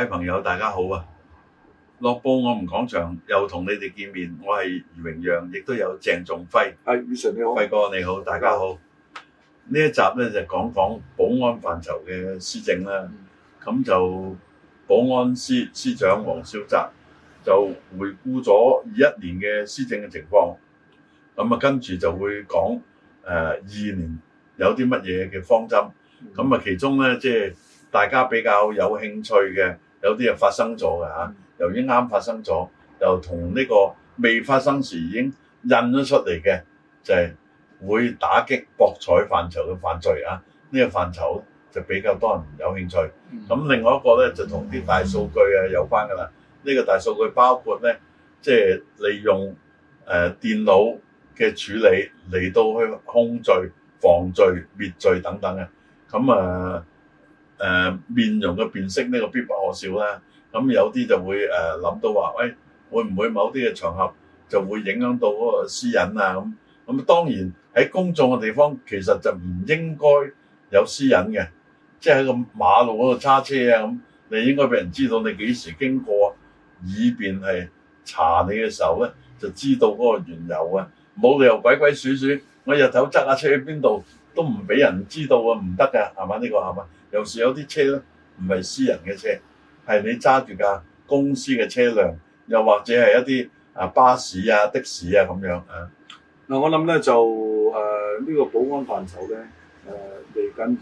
朋友大家好啊！樂報我們講場又同你哋見面，我係余榮陽，亦都有鄭仲輝。 係，余 Sir 你好， 輝哥你好，大家好。呢一集咧就講講保安範疇嘅施政啦。咁就保安司司長黃少澤就回顧咗21年嘅施政嘅情況。咁啊，跟住就會講22年有啲乜嘢嘅方針。咁啊，其中咧即係大家比較有興趣嘅，有啲係發生咗嘅嚇。由於啱發生咗，又同呢個未發生時已經印咗出嚟嘅，就係會打擊博彩範疇嘅犯罪啊！呢個範疇就比較多人有興趣。咁另外一個咧就同啲大數據有關㗎啦。呢個大數據包括咧，即係利用電腦嘅處理嚟到去控罪、防罪、滅罪等等嘅。咁面容嘅辨識呢個必不可少啦。咁有啲就會諗到話，喂，會唔會某啲嘅場合就會影響到嗰個私隱啊？咁當然喺公眾嘅地方其實就唔應該有私隱嘅，即係喺個馬路嗰度揸車啊咁，你應該俾人知道你幾時經過，以便係查你嘅時候咧就知道嗰個緣由啊！冇理由鬼鬼祟祟，我日頭揸架車去邊度都唔俾人知道啊，唔得㗎，係嘛？呢個係嘛？有時有啲車咧唔係私人嘅車。係你揸住架公司嘅車輛，又或者係一啲巴士啊、的士啊咁樣啊。 嗱，我諗咧就呢個保安範疇咧嚟緊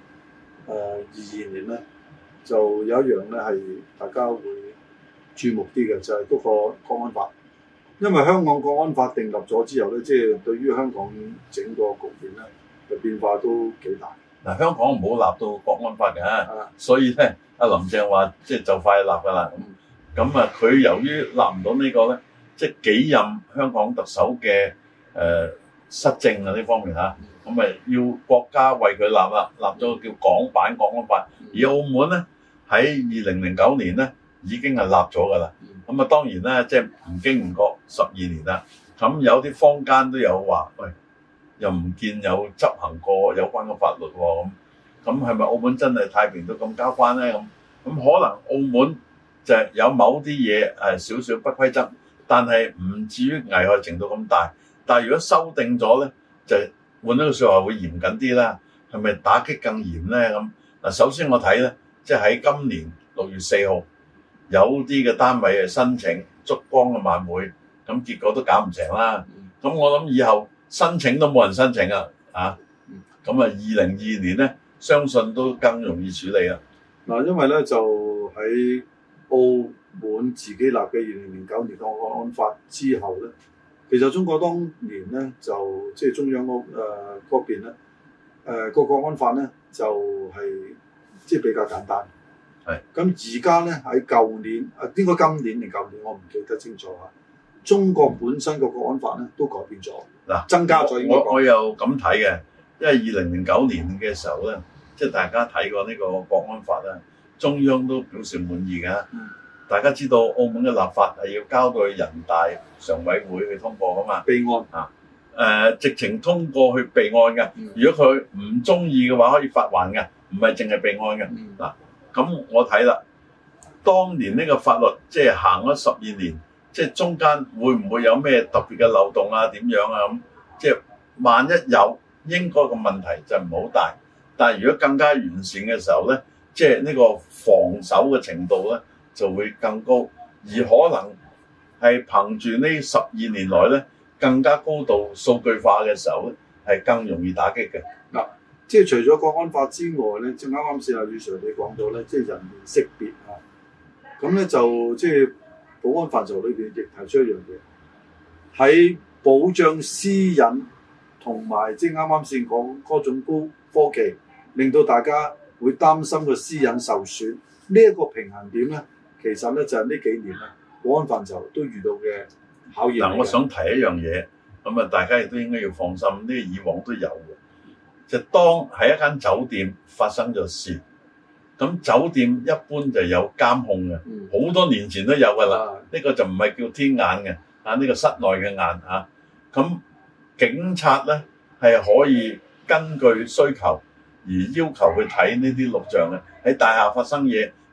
2022年咧，就有一樣咧係大家會注目啲嘅，就係嗰個國安法。因為香港國安法訂立咗之後咧，即係對於香港整個局面咧嘅變化都幾大。 嗱，香港唔好立到國安法嘅，所以咧。阿林鄭話即係就快立㗎啦，咁佢由於立唔到呢個咧，即係幾任香港特首嘅失政啊呢方面嚇，咁要國家為佢立啦，立咗個叫港版國安法，而澳門咧喺2009年咧已經係立咗㗎啦，咁當然咧即係唔經唔覺12年啦，咁有啲坊間都有話，喂，又唔見有執行過有關嘅法律喎咁係咪澳門真係太平到咁交關咧？咁可能澳門就係有某啲嘢少少不規則，但係唔至於危害程度咁大。但係如果修訂咗咧，就換一個説話會嚴謹啲啦。係咪打擊更嚴咧？咁嗱，首先我睇咧，即係喺今年6月4號有啲嘅單位申請燭光嘅晚會，咁結果都搞唔成啦。咁我諗以後申請都冇人申請啊！咁2022年咧。相信都更容易處理啦。嗱， 因為咧就喺澳門自己立嘅2009年國安法之後咧，其實中國當年咧就即係中央嗰邊咧個國安法咧就係即係比較簡單。係。咁而家咧喺舊年應該今年定舊年我唔記得清楚嚇。中國本身個國安法咧都改變咗。嗱，增加咗。我又咁睇嘅。因為2009年嘅時候咧，即係大家睇過呢個國安法啦，中央都表示滿意嘅。大家知道澳門嘅立法係要交到去人大常委會去通過噶嘛？備案直情通過去備案嘅。如果佢唔中意嘅話，可以發還嘅，唔係淨係備案嘅。嗱，咁我睇啦，當年呢個法律即係行咗12年，即係中間會唔會有咩特別嘅漏洞啊？點樣啊？咁即係萬一有。應該個問題就唔好大，但係如果更加完善嘅時候咧，即係呢個防守嘅程度咧就會更高，而可能係憑住呢12年來咧更加高度數據化嘅時候咧，係更容易打擊嘅。嗱，即係除咗國安法之外咧，即係啱先阿余 Sir 你講到咧，即係人面識別啊，咁咧就即係保安範疇裏邊亦提出一樣嘢，喺保障私隱。同埋即係啱啱先講嗰種高科技，令到大家會擔心個私隱受損。呢一個平衡點咧，其實咧就係呢幾年咧，保安範疇都遇到嘅考驗。嗱，我想提一樣嘢，咁大家亦都應該要放心，呢個以往都有嘅。就當喺一間酒店發生咗事，咁酒店一般就有監控嘅，好多年前都有㗎啦。呢個就唔係叫天眼嘅，呢個室內嘅眼咁。警察咧係可以根據需求而要求去睇呢啲錄像嘅，喺大廈發生嘢，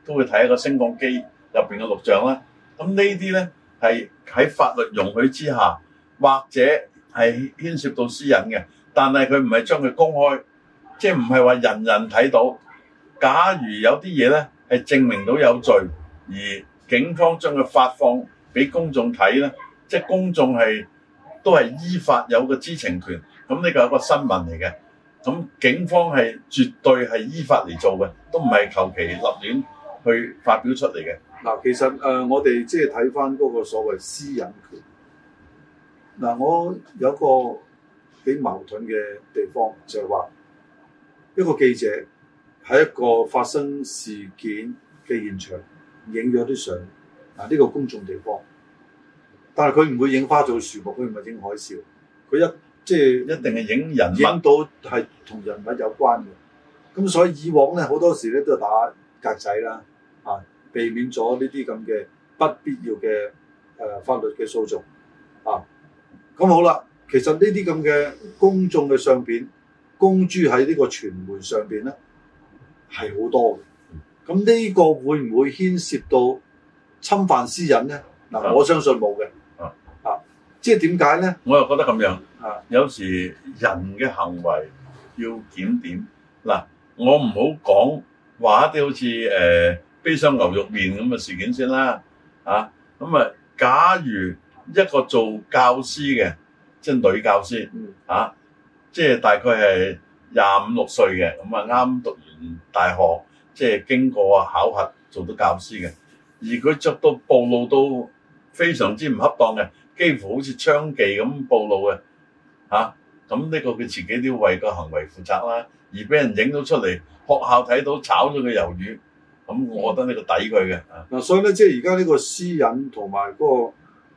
都會睇一個升降機入邊嘅錄像啦。咁呢啲咧係喺法律容許之下，或者係牽涉到私隱嘅，但係佢唔係將佢公開，即係唔係話人人睇到。假如有啲嘢咧係證明到有罪，而警方將佢發放俾公眾睇咧，即係公眾都係依法有個知情權。咁呢個係一個新聞嚟嘅，咁警方係絕對係依法嚟做嘅，都唔係求其立亂去發表出嚟嘅。 嗱，其實我哋即係睇翻嗰個所謂私隱權。嗱，我有個幾矛盾嘅地方，就係話一個記者喺一個發生事件嘅現場影咗啲相，呢個公眾地方，但係佢唔會影花草樹木，佢唔係影海嘯，佢即係一定係影人物，影到係同人物有關嘅。咁所以以往咧好多時咧都係打格仔啦，避免咗呢啲咁嘅不必要嘅法律嘅訴訟啊。咁好啦，其實呢啲咁嘅公眾嘅相片公諸喺呢個傳媒上邊咧係好多嘅。咁呢個會唔會牽涉到侵犯私隱咧？嗱，我相信冇嘅。即係點解咧？ 我又覺得咁樣。有時人嘅行為要檢點。嗱，我唔好講話一啲好似悲傷牛肉麵咁嘅事件先啦。咁啊，假如一個做教師嘅，即係女教師，即係大概係25、26歲嘅，咁啊啱讀完大學，即係經過考核做到教師嘅，而佢着到暴露到非常之唔恰當嘅，幾乎好似娼妓咁暴露嘅，咁呢個佢自己都要為個行為負責啦。而俾人影到出嚟，學校睇到炒咗佢魷魚，咁我覺得呢個抵佢嘅。 嗱，所以咧，即係而家呢個私隱同埋嗰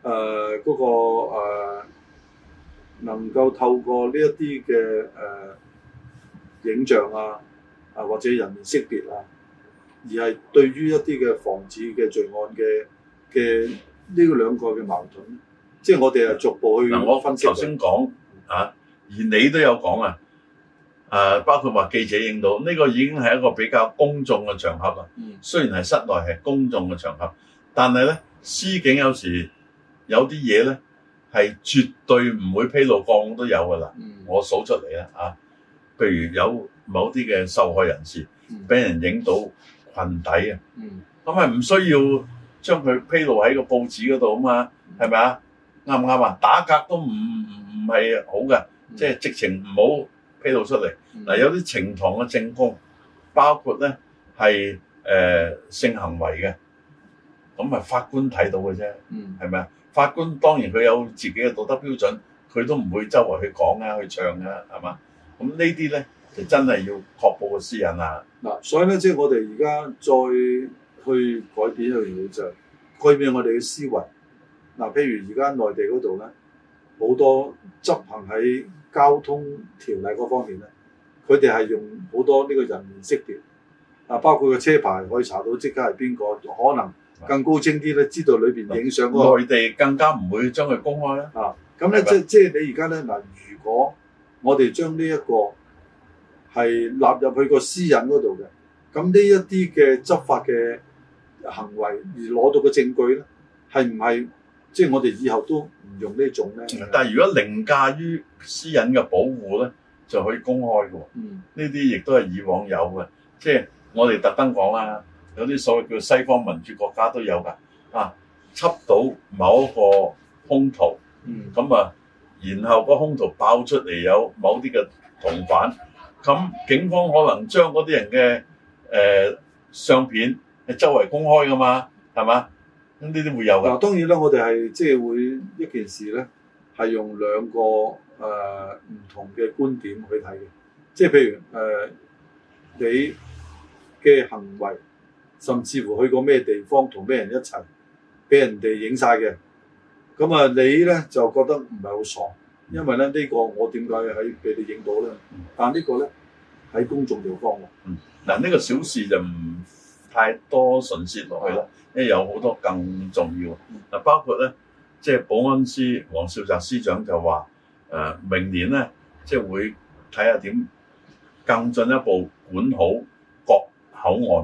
個能夠透過呢一啲嘅影像或者人面識別而係對於一啲嘅防止嘅罪案嘅呢兩個嘅矛盾，即係我哋係逐步去分析。 我頭先講而你都有講包括話記者影到呢個已經係一個比較公眾嘅場合啦。雖然係室內係公眾嘅場合，但係咧司警有時有啲嘢咧係絕對唔會披露，個案都有噶啦。我數出嚟啦譬如有某啲嘅受害人士俾人影到裙底咁係唔需要將佢披露喺個報紙嗰度啊嘛，係咪啊？啱唔啱啊？打格都唔係好嘅，即係直情唔好披露出嚟。有啲呈堂嘅證供，包括咧係性行為嘅，咁係法官睇到嘅啫，係咪啊？法官當然佢有自己嘅道德標準，佢都唔會周圍去講去唱係嘛？咁呢啲咧就真係要確保個私隱啊！ 嗱，所以咧即係我哋而家再去改變一樣嘢，就係改變我哋嘅思維。嗱，譬如而家內地嗰度咧，好多執行喺交通條例嗰方面咧，佢哋係用好多呢個人面識別包括個車牌可以查到即刻係邊個，可能更高精啲咧，知道裏邊影相嗰個。內地更加唔會將佢公開啦。 咁咧即係你而家咧嗱，如果我哋將呢一個係納入去個私隱嗰度嘅，咁呢一啲嘅執法嘅行為而攞到嘅證據咧，係唔係即係我哋以後都唔用呢種咧？ 但係如果凌駕於私隱嘅保護咧，就可以公開嘅喎。呢啲亦都係以往有嘅，即係我哋特登講啦，有啲所謂叫西方民主國家都有㗎。緝到某一個兇徒，然後個兇徒爆出嚟有某啲嘅同犯，咁警方可能將嗰啲人嘅相片係周圍公開㗎嘛，係嘛？咁呢啲會有㗎。 當然啦，我哋係即係會一件事咧，係用兩個唔同嘅觀點去睇嘅。即係譬如你嘅行為，甚至乎去過咩地方，同咩人一齊，俾人哋影晒嘅。咁你咧就覺得唔係好爽，因為咧呢個我點解喺俾你影到咧？但呢個咧喺公眾地方喎。 呢個小事就唔太多唇舌落去啦，因為有好多更重要。包括咧，即係保安司黃少澤司長就話明年咧，即係會睇下點更進一步管好各口岸，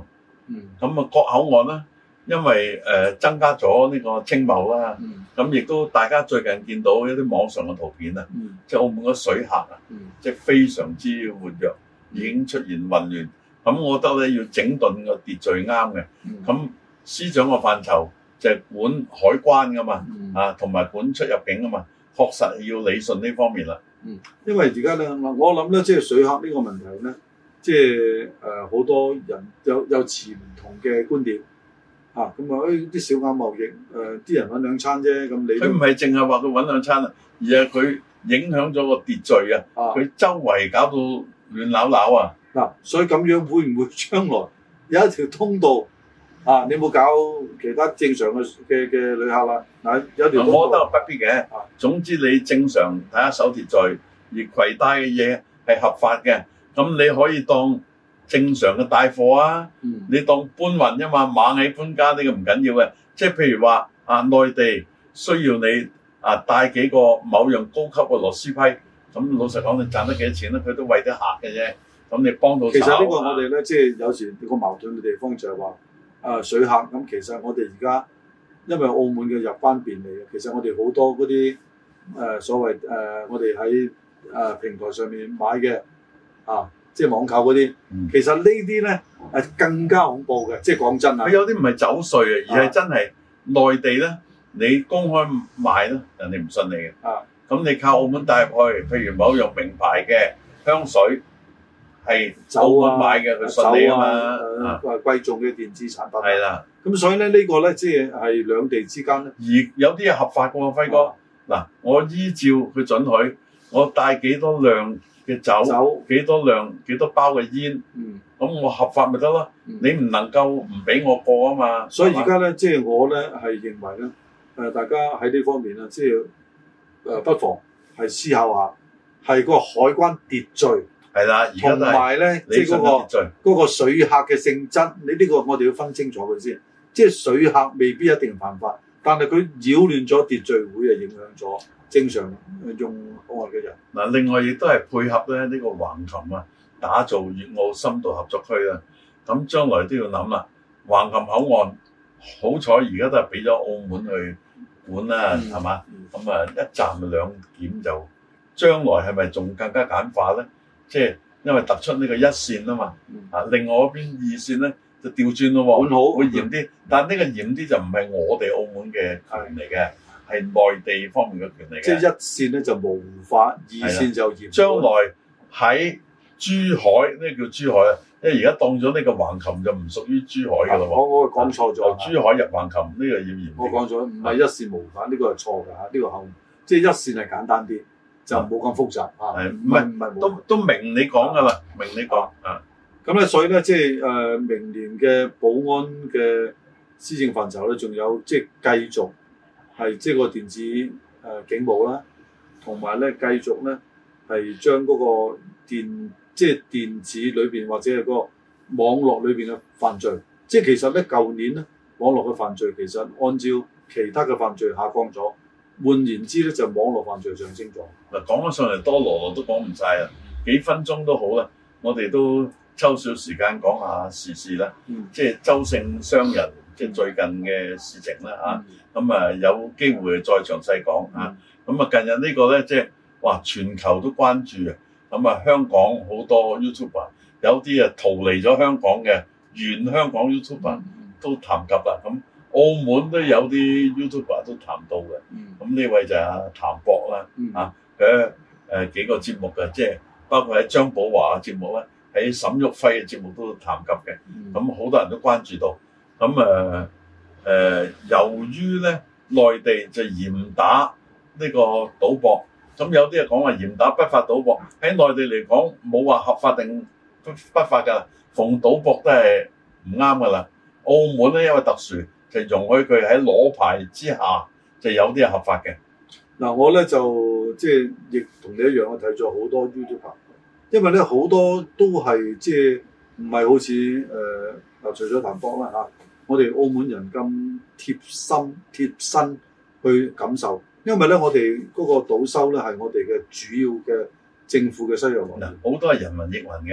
咁啊各口岸咧，因為增加咗呢個青茂啦，咁亦都大家最近見到一啲網上嘅圖片啊，即係澳門嘅水客啊，即係非常之活躍，已經出現混亂。咁我覺得咧要整頓個秩序啱嘅。咁司長個範疇就係管海關噶嘛，同埋管出入境噶嘛，確實要理順呢方面啦。 因為而家咧，我諗咧，即係水客呢個問題咧，即係好多人有持唔同嘅觀點咁啊，啲小額貿易啲人揾兩餐啫，咁你佢唔係淨係話佢揾兩餐啊，而係佢影響咗個秩序啊，佢周圍搞到亂鬧鬧啊！ 嗱，所以咁樣會唔會將來有一條通道你冇搞其他正常嘅旅客啦？嗱，有條通道， 我覺得不必嘅。總之你正常睇下守秩序，而攜帶嘅嘢係合法嘅，咁你可以當正常嘅帶貨啊。你當搬運啫嘛，螞蟻搬家呢個唔緊要嘅。即係譬如話內地需要你帶幾個某樣高級嘅螺絲批，咁老實講你賺得幾多錢咧？佢都為啲客嘅啫。咁你幫到手。 其實呢個我哋咧，即係有時個矛盾嘅地方就係話水客咁。其實我哋而家因為澳門嘅入關便利，其實我哋好多嗰啲所謂我哋喺平台上面買嘅即係網購嗰啲，其實呢啲咧更加恐怖嘅。即係講真啊， 佢有啲唔係走稅啊，而係真係內地咧，你公開賣咧，人哋唔信你嘅。咁你靠澳門帶入去，譬如某樣名牌嘅香水。係澳門買嘅，佢信你啊嘛。 貴重嘅電子產品。 係啦。 咁所以咧，呢個咧，即係兩地之間咧。 而有啲係合法嘅喎，輝哥。嗱，我依照佢准許，我帶幾多量嘅酒，幾多量幾多包嘅煙。咁我合法咪得咯？你唔能夠唔俾我過啊嘛。 所以而家咧，即係我咧係認為咧，大家喺呢方面啊，即係不妨係思考下，係個海關秩序。 係啦，而家都係同埋咧，即係嗰個水客嘅性質，你呢個我哋要分清楚佢先。即係水客未必一定犯法，但係佢擾亂咗秩序，會係影響咗正常用口岸嘅人。 嗱，另外亦都係配合咧呢個橫琴啊，打造粵澳深度合作區啦。咁將來都要諗啦，橫琴口岸好彩而家都係俾咗澳門去管啦，係嘛？咁一站兩檢就將來係咪仲更加簡化咧？即係因為突出呢個一線啊嘛，另外嗰邊二線咧就調轉咯喎， 好會嚴啲，但係呢個嚴啲就唔係我哋澳門嘅權嚟嘅，係內地方面嘅權嚟嘅。 即係一線咧就無法，二線就嚴。將來喺珠海呢叫珠海啊，因為而家當咗呢個橫琴就唔屬於珠海㗎咯喎。 我講錯咗， 珠海入橫琴呢個要嚴。 我講咗，唔係一線無法，呢個係錯㗎嚇，呢個後即係一線係簡單啲。就冇咁複雜唔係都明你講㗎啦，明你講咁咧，所以咧，即係明年嘅保安嘅施政範疇咧，仲有即係繼續係即係個電子警務啦，同埋咧繼續咧係將嗰個即係電子裏邊或者係個網絡裏邊嘅犯罪，即係其實咧舊年咧網絡嘅犯罪其實按照其他嘅犯罪下降咗。換言之咧，就網絡犯罪上升咗。 嗱，講咗上嚟多羅都講唔晒啦，幾分鐘都好啦。我哋都抽少時間講下時事啦，即係周姓商人即係最近嘅事情啦嚇。咁有機會再詳細講嚇。咁近日呢個咧即係哇全球都關注啊。咁香港好多 YouTuber 有啲逃離咗香港嘅原香港 YouTuber 都談及啦。咁澳門都有啲 YouTuber 都談到嘅，咁呢位就係阿譚博啦，佢幾個節目嘅，即係包括喺張寶華嘅節目咧，喺沈旭輝嘅節目都談及嘅，咁好多人都關注到，咁由於咧內地就嚴打呢個賭博，咁有啲人講話嚴打不法賭博，喺內地嚟講冇話合法定不法㗎，逢賭博都係唔啱㗎啦。澳門咧因為特殊。就容許佢喺攞牌之下，就有啲係合法嘅。 嗱，我咧就即係亦同你一樣，我睇咗好多 YouTuber，因為咧好多都係即係唔係好似除咗譚博啦嚇，我哋澳門人咁貼身去感受，因為咧我哋嗰個賭收咧係我哋嘅主要嘅政府嘅收入來源。 好多係人云亦云嘅，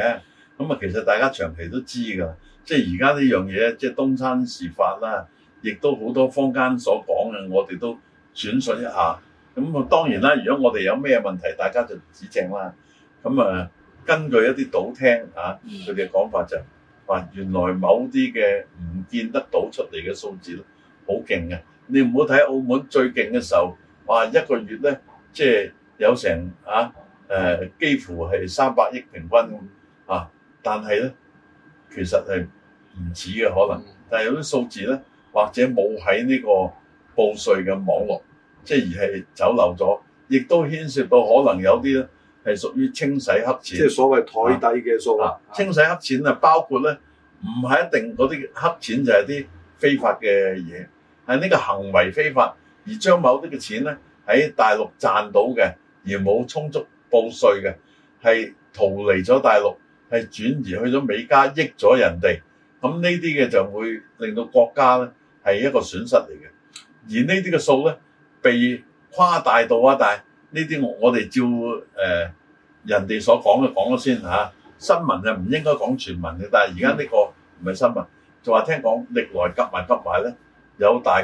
咁啊，其實大家長期都知㗎，即係而家呢樣嘢，即係東山事發啦，亦都好多坊間所講嘅，我哋都轉述一下。咁啊，當然啦，如果我哋有咩問題，大家就指正啦。咁啊，根據一啲賭廳啊，佢哋嘅講法就話，原來某啲嘅唔見得到出嚟嘅數字咧，好勁嘅。你唔好睇澳門最勁嘅時候，哇，一個月咧，即係有成幾乎係300億平均啊，但係咧其實係唔止嘅可能，但係有啲數字咧，或者冇喺呢個報稅嘅網絡，即係而係走漏咗，亦都牽涉到可能有啲咧係屬於清洗黑錢， 即係所謂台底嘅數清洗黑錢啊，包括咧唔係一定嗰啲黑錢就係啲非法嘅嘢，係呢個行為非法，而將某啲嘅錢咧喺大陸賺到嘅，而冇充足報稅嘅，係逃離咗大陸，係轉移去咗美加，益咗人哋。咁呢啲嘅就會令到國家咧係一個損失嚟嘅。而呢啲嘅數咧被誇大到啊，但係呢啲我哋照人哋所講嘅講咗先嚇。新聞就唔應該講全文嘅，但係而家呢個唔係新聞，就話聽講歷來夾埋咧有大概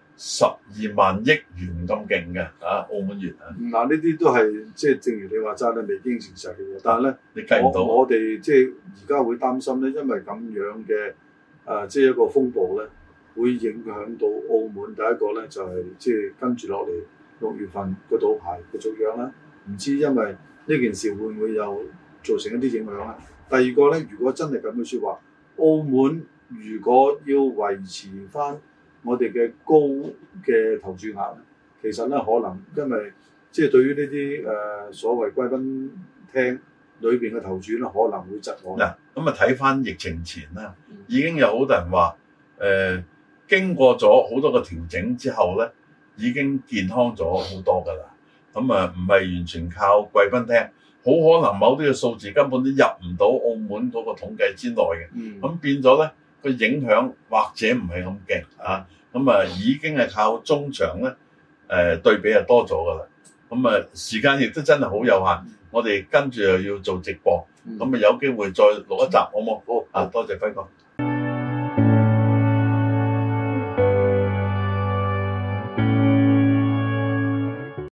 12萬億元咁勁嘅澳門元啊！ 嗱，呢啲都係即係正如你話齋咧，未經證實嘅嘢。但係咧， 你計唔到我哋即係而家會擔心咧，因為咁樣嘅即係一個風暴咧，會影響到澳門。第一個咧就係即係跟住落嚟6月份個賭牌嘅續約啦。唔知因為呢件事會唔會有造成一啲影響咧？第二個咧，如果真係咁嘅説話，澳門如果要維持翻我哋嘅高嘅投注額咧，其實咧可能因為即係對於呢啲所謂貴賓廳裏邊嘅投注咧，可能會窒礙。 嗱，咁啊睇翻疫情前啦，已經有好多人話經過咗好多個調整之後咧，已經健康咗好多㗎啦。咁啊唔係完全靠貴賓廳，好可能某啲嘅數字根本都入唔到澳門嗰個統計之內嘅。咁變咗咧，個影響或者唔係咁勁啊。咁啊已經係靠中場咧對比係多咗㗎啦。咁啊時間亦都真係好有限，我哋跟住又要做直播，咁啊有機會再錄一集好冇？好啊，多謝輝哥。